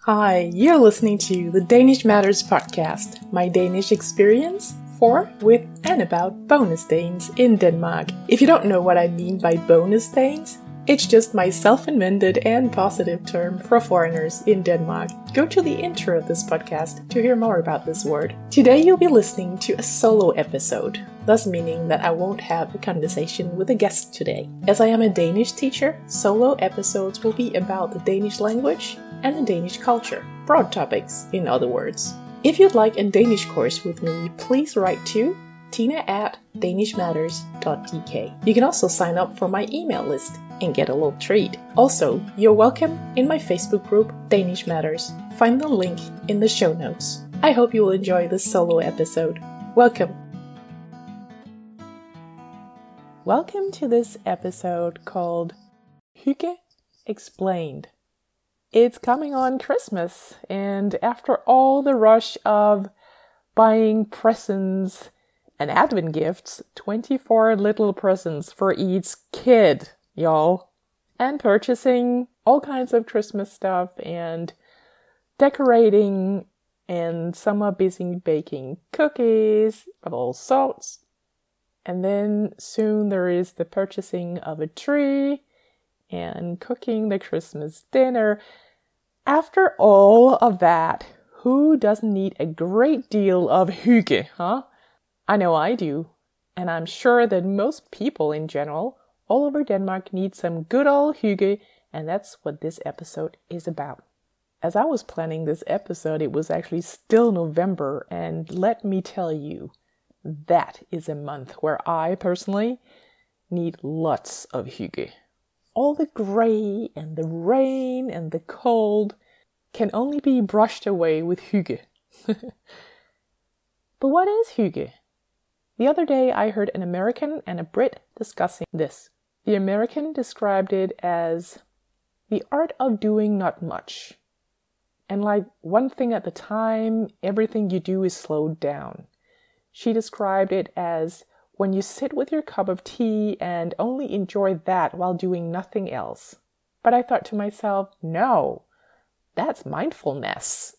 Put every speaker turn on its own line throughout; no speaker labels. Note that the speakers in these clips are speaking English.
Hi, you're listening to the Danish Matters podcast, my Danish experience for, with, and about bonus Danes in Denmark. If you don't know what I mean by bonus Danes, it's just my self-invented and positive term for foreigners in Denmark. Go to the intro of this podcast to hear more about this word. Today you'll be listening to a solo episode, thus meaning that I won't have a conversation with a guest today. As I am a Danish teacher, solo episodes will be about the Danish language and the Danish culture. Broad topics, in other words. If you'd like a Danish course with me, please write to tina@danishmatters.dk. You can also sign up for my email list and get a little treat. Also, you're welcome in my Facebook group, Danish Matters. Find the link in the show notes. I hope you will enjoy this solo episode. Welcome. Welcome to this episode called Hygge Explained. It's coming on Christmas, and after all the rush of buying presents and advent gifts, 24 little presents for each kid, y'all, and purchasing all kinds of Christmas stuff and decorating, and some are busy baking cookies of all sorts. And then soon there is the purchasing of a tree and cooking the Christmas dinner. After all of that, who doesn't need a great deal of hygge, huh? I know I do, and I'm sure that most people in general all over Denmark need some good old hygge, and that's what this episode is about. As I was planning this episode, it was actually still November, and let me tell you, that is a month where I personally need lots of hygge. All the grey and the rain and the cold can only be brushed away with hygge. But what is hygge? The other day I heard an American and a Brit discussing this. The American described it as the art of doing not much. And like one thing at a time, everything you do is slowed down. She described it as when you sit with your cup of tea and only enjoy that while doing nothing else. But I thought to myself, no, that's mindfulness.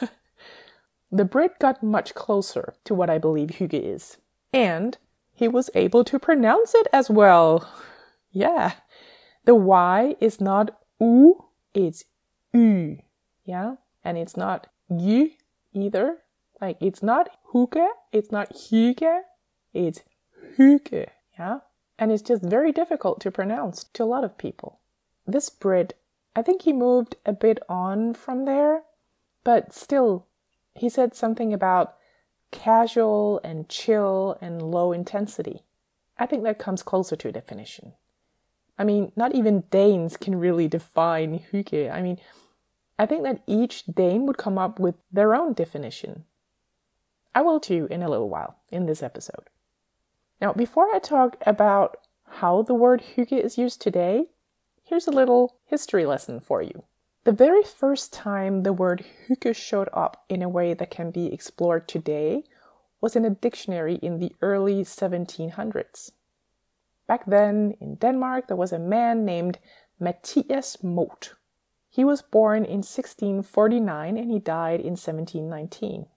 The Brit got much closer to what I believe hygge is. And he was able to pronounce it as well. Yeah. The Y is not U, it's Y. Yeah. And it's not Y either. Like, it's not hygge, it's not hygge, it's hygge, yeah? And it's just very difficult to pronounce to a lot of people. This Brit, I think he moved a bit on from there, but still, he said something about casual and chill and low intensity. I think that comes closer to a definition. I mean, not even Danes can really define hygge. I mean, I think that each Dane would come up with their own definition. I will too in a little while in this episode. Now, before I talk about how the word hygge is used today, here's a little history lesson for you. The very first time the word hygge showed up in a way that can be explored today was in a dictionary in the early 1700s. Back then, in Denmark, there was a man named Mathias Mott. He was born in 1649 and he died in 1719.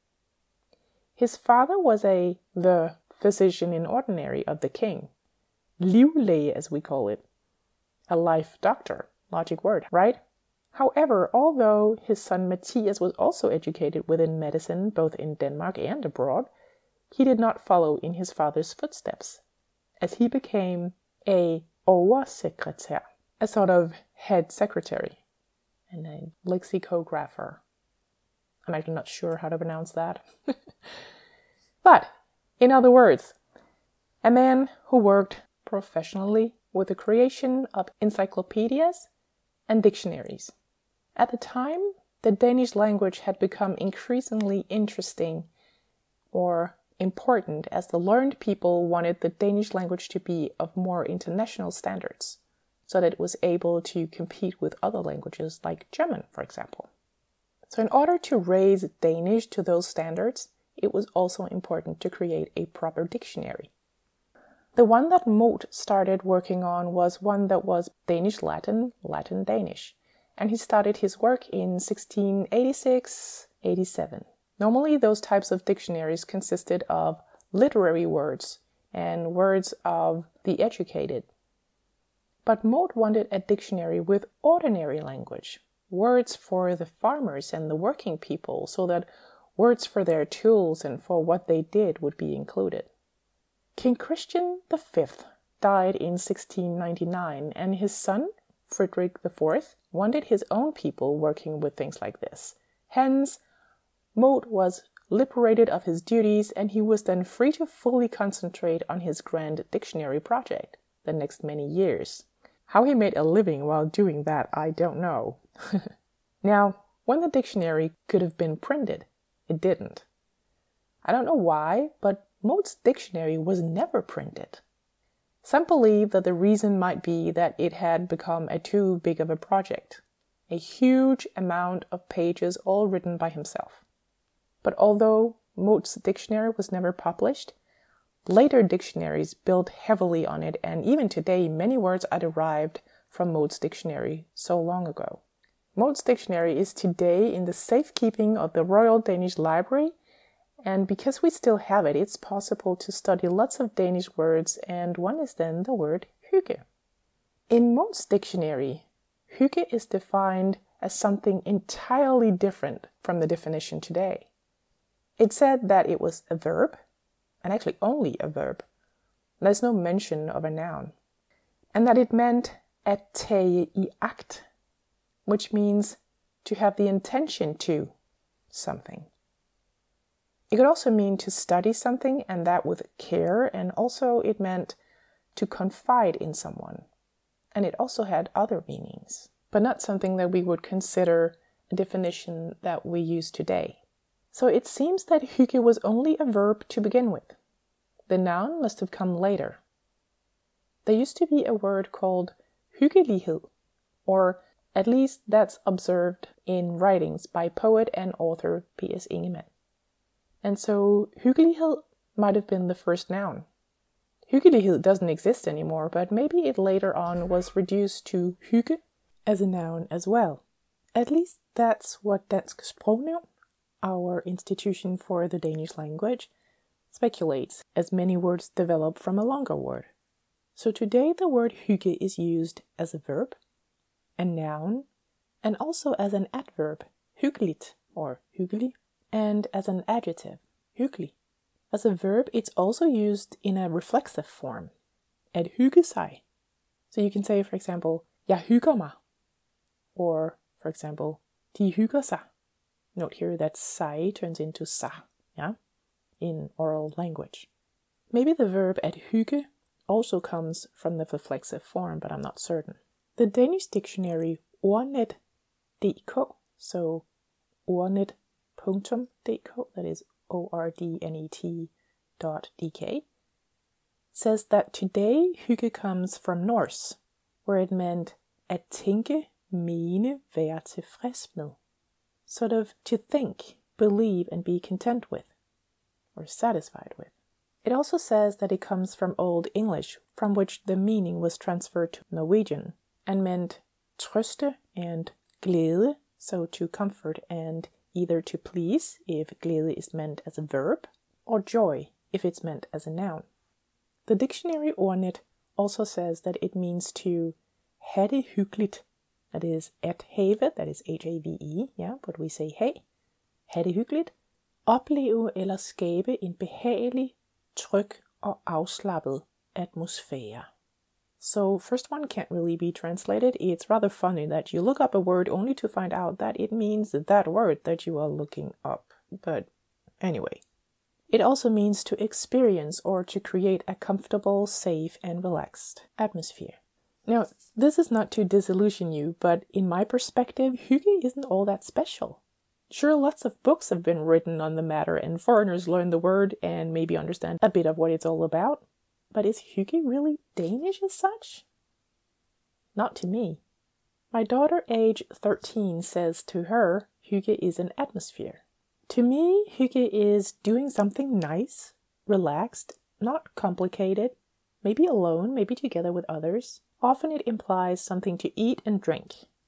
His father was the physician in ordinary of the king. Livlæge, as we call it. A life doctor. Logic word, right? However, although his son Mathias was also educated within medicine both in Denmark and abroad, he did not follow in his father's footsteps, as he became a oversekretær, a sort of head secretary, and a lexicographer. I'm actually not sure how to pronounce that. But, in other words, a man who worked professionally with the creation of encyclopedias and dictionaries. At the time, the Danish language had become increasingly interesting or important as the learned people wanted the Danish language to be of more international standards, so that it was able to compete with other languages like German, for example. So in order to raise Danish to those standards, it was also important to create a proper dictionary. The one that Mott started working on was one that was Danish-Latin, Latin-Danish, and he started his work in 1686-87. Normally, those types of dictionaries consisted of literary words and words of the educated. But Moth wanted a dictionary with ordinary language, words for the farmers and the working people, so that words for their tools and for what they did would be included. King Christian V died in 1699, and his son, Frederick IV, wanted his own people working with things like this. Hence, Moth was liberated of his duties, and he was then free to fully concentrate on his grand dictionary project the next many years. How he made a living while doing that, I don't know. Now, when the dictionary could have been printed, it didn't. I don't know why, but Moth's dictionary was never printed. Some believe that the reason might be that it had become too big of a project, a huge amount of pages all written by himself. But although Moth's dictionary was never published, later dictionaries built heavily on it, and even today many words are derived from Moth's dictionary so long ago. Moth's dictionary is today in the safekeeping of the Royal Danish Library, and because we still have it, it's possible to study lots of Danish words, and one is then the word hygge. In Moth's dictionary, hygge is defined as something entirely different from the definition today. It said that it was a verb, and actually only a verb. There's no mention of a noun. And that it meant at tage I agt, which means to have the intention to something. It could also mean to study something, and that with care, and also it meant to confide in someone. And it also had other meanings, but not something that we would consider a definition that we use today. So it seems that hygge was only a verb to begin with. The noun must have come later. There used to be a word called hyggelighed, or at least that's observed in writings by poet and author P.S. Ingemann. And so hyggelighed might have been the first noun. Hyggelighed doesn't exist anymore, but maybe it later on was reduced to hygge as a noun as well. At least that's what Dansk Sprognævn, our institution for the Danish language, speculates, as many words develop from a longer word. So today the word hygge is used as a verb, a noun, and also as an adverb, hyggeligt or hyggelig, and as an adjective, hyggelig. As a verb, it's also used in a reflexive form, at hygge sig. So you can say, for example, jeg hygger mig, or, for example, de hygger sig. Note here that sig turns into sa, yeah, in oral language. Maybe the verb at hygge also comes from the reflexive form, but I'm not certain. The Danish dictionary ordnet.dk, so ordnet.dk, that is ordnet.dk, says that today hygge comes from Norse, where it meant at tænke, mene, være tilfreds med. Sort of to think, believe, and be content with, or satisfied with. It also says that it comes from Old English, from which the meaning was transferred to Norwegian, and meant trøste and glæde, so to comfort and either to please, if glæde is meant as a verb, or joy, if it's meant as a noun. The dictionary Ordnet also says that it means to have det hyggeligt, that is at have, that is H-A-V-E, yeah, but we say hey, have det hyggeligt, opleve eller skabe en behagelig, tryg og afslappet atmosfære. So first one can't really be translated. It's rather funny that you look up a word only to find out that it means that word that you are looking up. But anyway. It also means to experience or to create a comfortable, safe, and relaxed atmosphere. Now, this is not to disillusion you, but in my perspective, hygge isn't all that special. Sure, lots of books have been written on the matter, and foreigners learn the word and maybe understand a bit of what it's all about. But is hygge really Danish as such? Not to me. My daughter, age 13, says to her, hygge is an atmosphere. To me, hygge is doing something nice, relaxed, not complicated, maybe alone, maybe together with others. Often it implies something to eat and drink.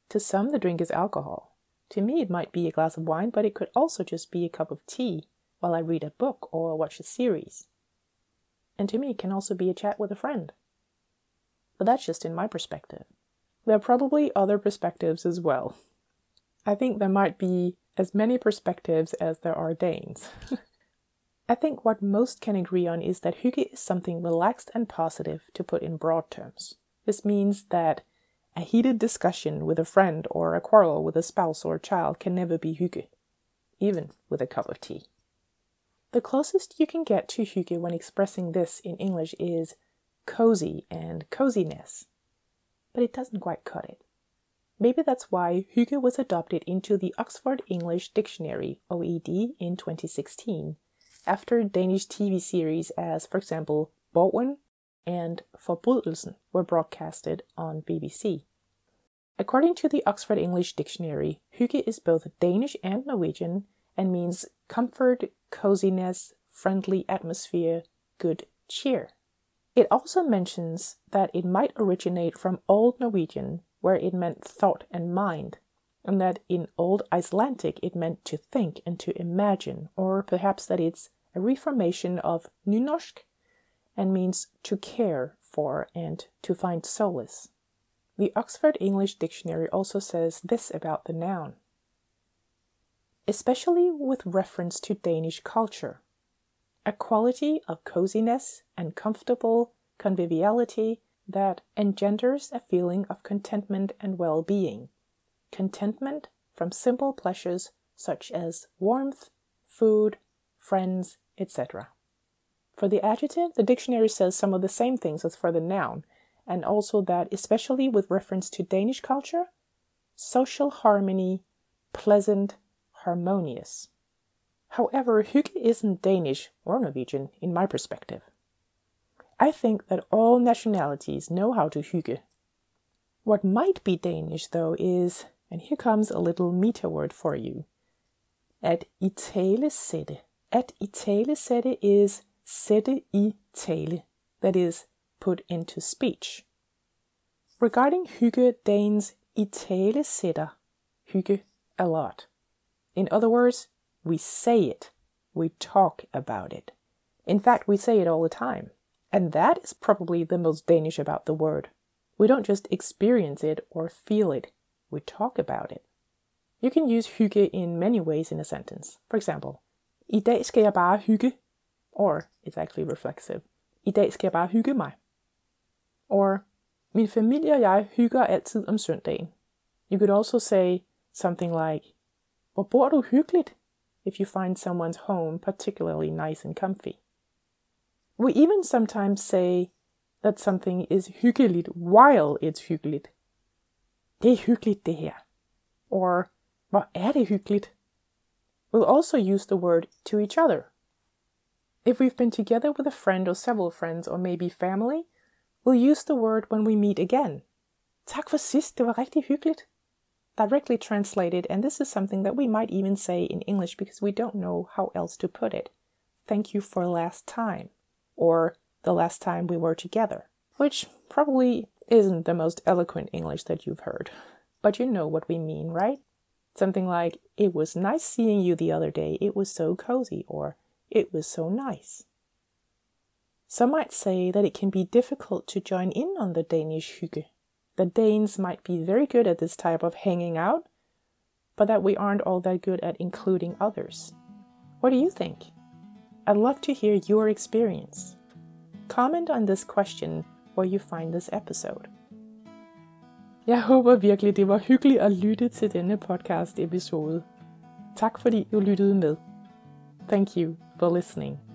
To some, the drink is alcohol. To me, it might be a glass of wine, but it could also just be a cup of tea while I read a book or watch a series. And to me, it can also be a chat with a friend. But that's just in my perspective. There are probably other perspectives as well. I think there might be as many perspectives as there are Danes. I think what most can agree on is that hygge is something relaxed and positive, to put in broad terms. This means that a heated discussion with a friend or a quarrel with a spouse or a child can never be hygge, even with a cup of tea. The closest you can get to hygge when expressing this in English is cozy and coziness, but it doesn't quite cut it. Maybe that's why hygge was adopted into the Oxford English Dictionary, OED, in 2016, after Danish TV series as, for example, Borgen and Forbrydelsen were broadcasted on BBC. According to the Oxford English Dictionary, hygge is both Danish and Norwegian and means comfort, coziness, friendly atmosphere, good cheer. It also mentions that it might originate from Old Norwegian, where it meant thought and mind, and that in Old Icelandic it meant to think and to imagine, or perhaps that it's a reformation of nynorsk and means to care for and to find solace. The Oxford English Dictionary also says this about the noun. Especially with reference to Danish culture, a quality of coziness and comfortable conviviality that engenders a feeling of contentment and well-being. Contentment from simple pleasures such as warmth, food, friends, etc. For the adjective, the dictionary says some of the same things as for the noun, and also that, especially with reference to Danish culture, social harmony, pleasant, harmonious. However, hygge isn't Danish or Norwegian in my perspective. I think that all nationalities know how to hygge. What might be Danish, though, is, and here comes a little meta word for you, at italesætte. At italesætte is sætte i tale, that is, put into speech. Regarding hygge, Danes italesætter hygge a lot. In other words, we say it, we talk about it. In fact, we say it all the time. And that is probably the most Danish about the word. We don't just experience it or feel it, we talk about it. You can use hygge in many ways in a sentence. For example, I dag skal jeg bare hygge. Or, it's actually reflexive. I dag skal jeg bare hygge mig. Or, min familie og jeg hygger altid om søndagen. You could also say something like, hvor bor du hyggeligt? If you find someone's home particularly nice and comfy. We even sometimes say that something is hyggeligt while it's hyggeligt. Det er hyggeligt det her. Or, hvor er det hyggeligt? We'll also use the word to each other. If we've been together with a friend or several friends or maybe family, we'll use the word when we meet again. Tak for sidst, det var rigtig hyggeligt. Directly translated, and this is something that we might even say in English because we don't know how else to put it. Thank you for last time. Or the last time we were together. Which probably isn't the most eloquent English that you've heard. But you know what we mean, right? Something like, it was nice seeing you the other day, it was so cozy, or it was so nice. Some might say that it can be difficult to join in on the Danish hygge. The Danes might be very good at this type of hanging out, but that we aren't all that good at including others. What do you think? I'd love to hear your experience. Comment on this question where you find this episode. Jeg håber virkelig, det var hyggeligt at lytte til denne podcast-episode. Tak fordi du lyttede med. Thank you for listening.